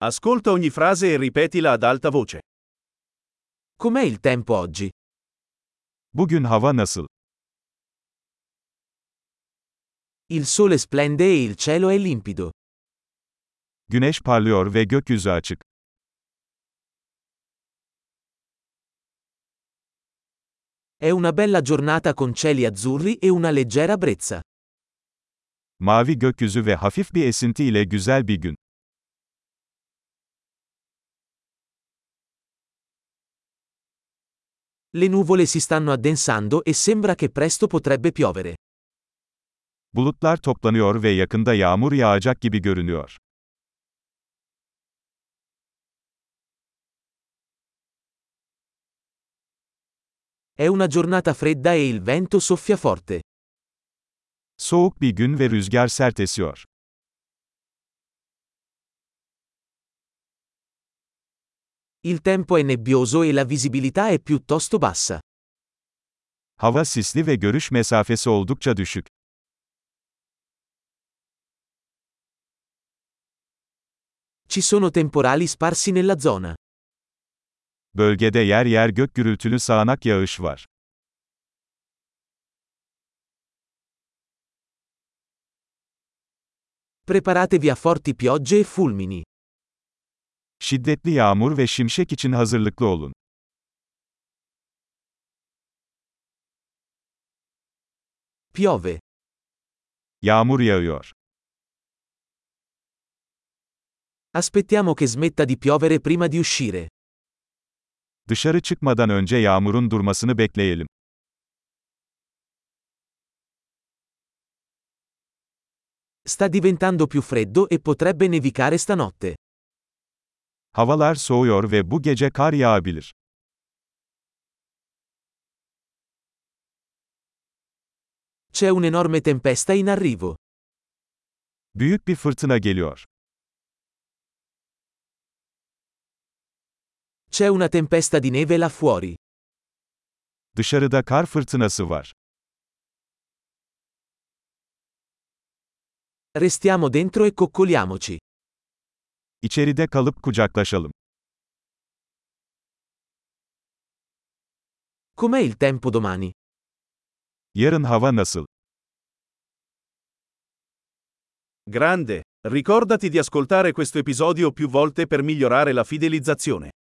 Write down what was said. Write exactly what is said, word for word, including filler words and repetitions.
Ascolta ogni frase e ripetila ad alta voce. Com'è il tempo oggi? Bugün hava nasıl? Il sole splende e il cielo è limpido. Güneş parlıyor ve gökyüzü açık. È una bella giornata con cieli azzurri e una leggera brezza. Mavi gökyüzü ve hafif bir esinti ile güzel bir gün. Le nuvole si stanno addensando e sembra che presto potrebbe piovere. Bulutlar toplanıyor ve yakında yağmur yağacak gibi görünüyor. È una giornata fredda e il vento soffia forte. Soğuk bir gün ve rüzgar sert esiyor. Il tempo è nebbioso e la visibilità è piuttosto bassa. Hava sisli ve görüş mesafesi oldukça düşük. Ci sono temporali sparsi nella zona. Bölgede yer yer gök gürültülü sağanak yağış var. Preparatevi a forti piogge e fulmini. Şiddetli yağmur ve şimşek için hazırlıklı olun. Piove. Yağmur yağıyor. Aspettiamo che smetta di piovere prima di uscire. Dışarı çıkmadan önce yağmurun durmasını bekleyelim. Sta diventando più freddo e potrebbe nevicare stanotte. Havalar soğuyor ve bu gece kar yağabilir. C'è un'enorme tempesta in arrivo. Büyük bir fırtına geliyor. C'è una tempesta di neve là fuori. Dışarıda kar fırtınası var. Restiamo dentro e coccoliamoci. İçeride kalıp kucaklaşalım. Com'è il tempo domani? Yarın hava nasıl? Grande! Ricordati di ascoltare questo episodio più volte per migliorare la fidelizzazione.